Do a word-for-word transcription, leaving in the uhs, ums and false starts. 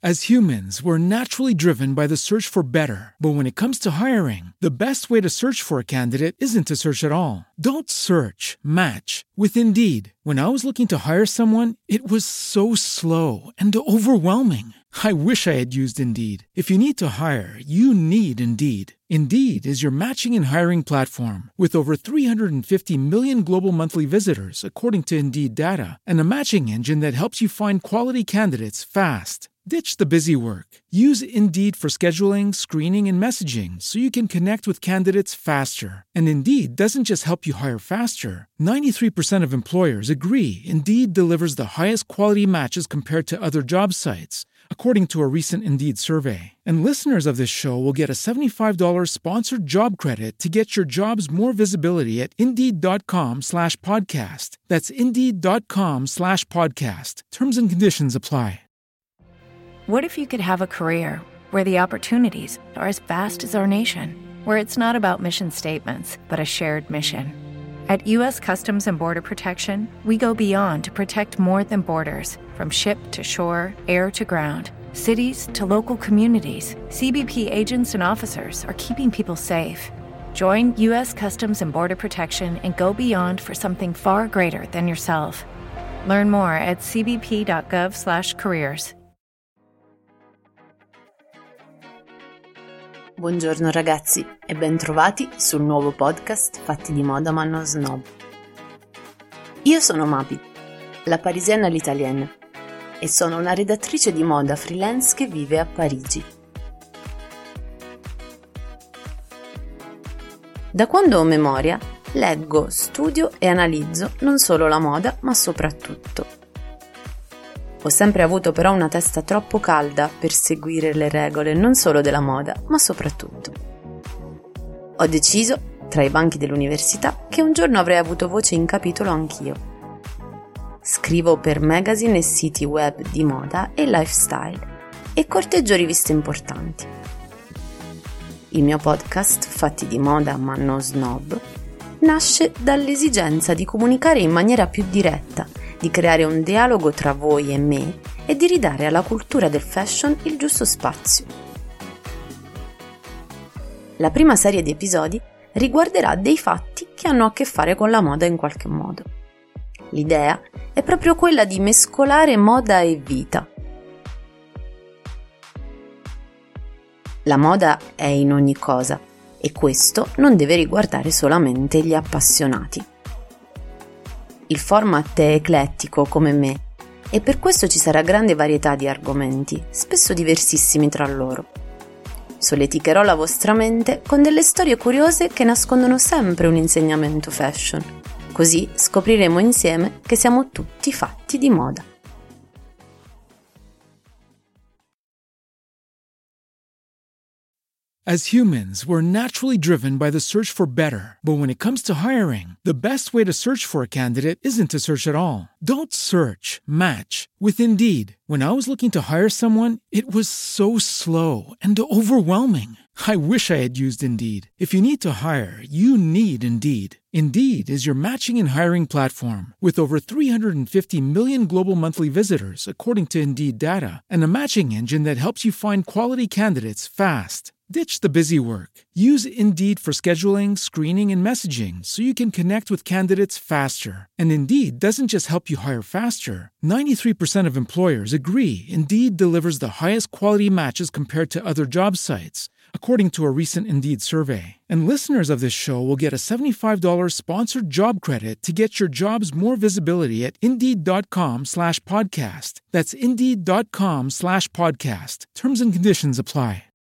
As humans, we're naturally driven by the search for better. But when it comes to hiring, the best way to search for a candidate isn't to search at all. Don't search, match with Indeed. When I was looking to hire someone, it was so slow and overwhelming. I wish I had used Indeed. If you need to hire, you need Indeed. Indeed is your matching and hiring platform with over three hundred fifty million global monthly visitors, according to Indeed data, and a matching engine that helps you find quality candidates fast. Ditch the busy work. Use Indeed for scheduling, screening, and messaging so you can connect with candidates faster. And Indeed doesn't just help you hire faster. ninety-three percent of employers agree Indeed delivers the highest quality matches compared to other job sites, according to a recent Indeed survey. And listeners of this show will get a seventy-five dollars sponsored job credit to get your jobs more visibility at Indeed.com slash podcast. That's Indeed.com slash podcast. Terms and conditions apply. What if you could have a career where the opportunities are as vast as our nation, where it's not about mission statements, but a shared mission? At U S Customs and Border Protection, we go beyond to protect more than borders. From ship to shore, air to ground, cities to local communities, C B P agents and officers are keeping people safe. Join U S Customs and Border Protection and go beyond for something far greater than yourself. Learn more at c b p dot gov slash careers. Buongiorno ragazzi e bentrovati sul nuovo podcast Fatti di moda ma non snob. Io sono Mapi, la parisienne all'italienne, e sono una redattrice di moda freelance che vive a Parigi. Da quando ho memoria, leggo, studio e analizzo non solo la moda ma soprattutto. Ho sempre avuto però una testa troppo calda per seguire le regole non solo della moda, ma soprattutto. Ho deciso, tra i banchi dell'università, che un giorno avrei avuto voce in capitolo anch'io. Scrivo per magazine e siti web di moda e lifestyle e corteggio riviste importanti. Il mio podcast, Fatti di moda ma non snob, nasce dall'esigenza di comunicare in maniera più diretta, di creare un dialogo tra voi e me e di ridare alla cultura del fashion il giusto spazio. La prima serie di episodi riguarderà dei fatti che hanno a che fare con la moda in qualche modo. L'idea è proprio quella di mescolare moda e vita. La moda è in ogni cosa e questo non deve riguardare solamente gli appassionati. Il format è eclettico come me e per questo ci sarà grande varietà di argomenti, spesso diversissimi tra loro. Solleticherò la vostra mente con delle storie curiose che nascondono sempre un insegnamento fashion. Così scopriremo insieme che siamo tutti fatti di moda. As humans, we're naturally driven by the search for better. But when it comes to hiring, the best way to search for a candidate isn't to search at all. Don't search, match with Indeed. When I was looking to hire someone, it was so slow and overwhelming. I wish I had used Indeed. If you need to hire, you need Indeed. Indeed is your matching and hiring platform with over three hundred fifty million global monthly visitors, according to Indeed data, and a matching engine that helps you find quality candidates fast. Ditch the busy work. Use Indeed for scheduling, screening, and messaging so you can connect with candidates faster. And Indeed doesn't just help you hire faster. ninety-three percent of employers agree Indeed delivers the highest quality matches compared to other job sites, according to a recent Indeed survey. And listeners of this show will get a seventy-five dollars sponsored job credit to get your jobs more visibility at Indeed.com slash podcast. That's Indeed.com slash podcast. Terms and conditions apply.